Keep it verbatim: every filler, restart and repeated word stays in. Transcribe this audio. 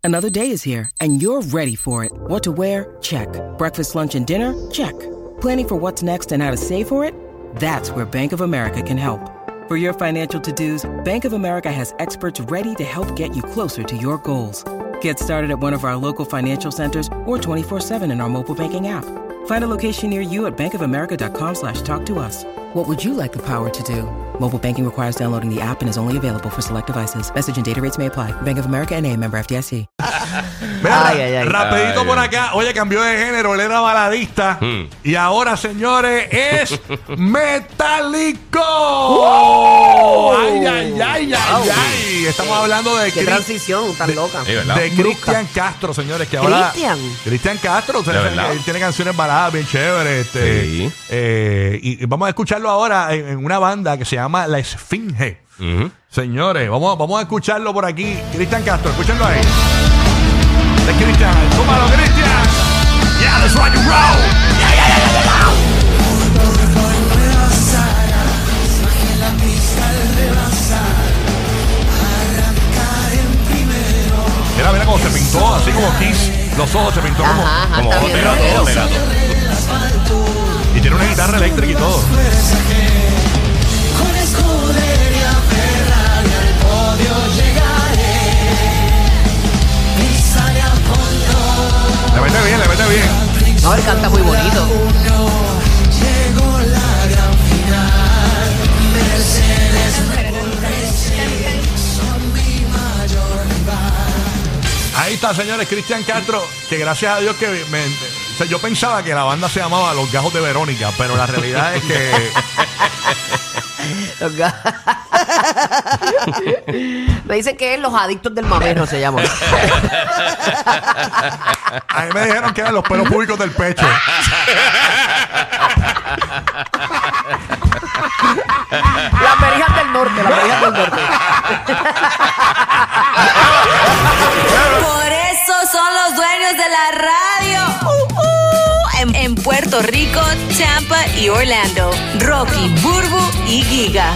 Another day is here, and you're ready for it. What to wear? Check. Breakfast, lunch, and dinner? Check. Planning for what's next and how to save for it? That's where Bank of America can help. For your financial to-dos, Bank of America has experts ready to help get you closer to your goals. Get started at one of our local financial centers or twenty-four seven in our mobile banking app. Find a location near you at bankofamerica.com slash talk to us. What would you like the power to do? Mobile banking requires downloading the app and is only available for select devices. Message and data rates may apply. Bank of America N A, member F D I C. Mira, Ay, ay, ay. rapidito Ay, por ay. acá. Oye, cambió de género. Él era baladista. Hmm. Y ahora, señores, es metálico. ¡Wow! Ay, ay, ay, ay, Wow. ay. Estamos hablando de Qué Cri- transición tan loca. Sí, ¿verdad? de Brusca. Cristian Castro, señores, que ahora Cristian. Cristian Castro, ustedes De saben verdad. que él tiene canciones baladas bien chéveres, este, Sí. eh, y, y vamos a escucharlo ahora en, en una banda que se llama La Esfinge. Ujú. Señores, vamos, vamos a escucharlo por aquí. Cristian Castro, escúchenlo ahí. De Cristian, tómalo, Cristian. Yeah, that's rock and roll. Yeah, yeah, yeah, yeah, yeah. Mira, mira cómo se pintó, así como Kiss. Los ojos se pintó como, Ajá, ajá, Como está bien otro, rockero. otro gato. y tiene una guitarra eléctrica y todo. Con escudería Ferrari al podio llegaré. Pisaré a fondo. Le mete bien, le mete bien. No, él canta muy bonito. Llegó la gran final. Mercedes son mi mayor rival. Ahí está, señores, Cristian Castro, que gracias a Dios que me, o sea, yo pensaba que la banda se llamaba Los Gajos de Verónica, pero la realidad es que Los ga- Me dicen que es Los Adictos del Mamero se llama. a mí me dijeron que eran los pelos públicos del pecho. Las Berijas del Norte, las Berijas del Norte. Por eso son los dueños de la radio. Uh, uh, en, en Puerto Rico, Tampa y Orlando. Rocky, Burbu y Giga.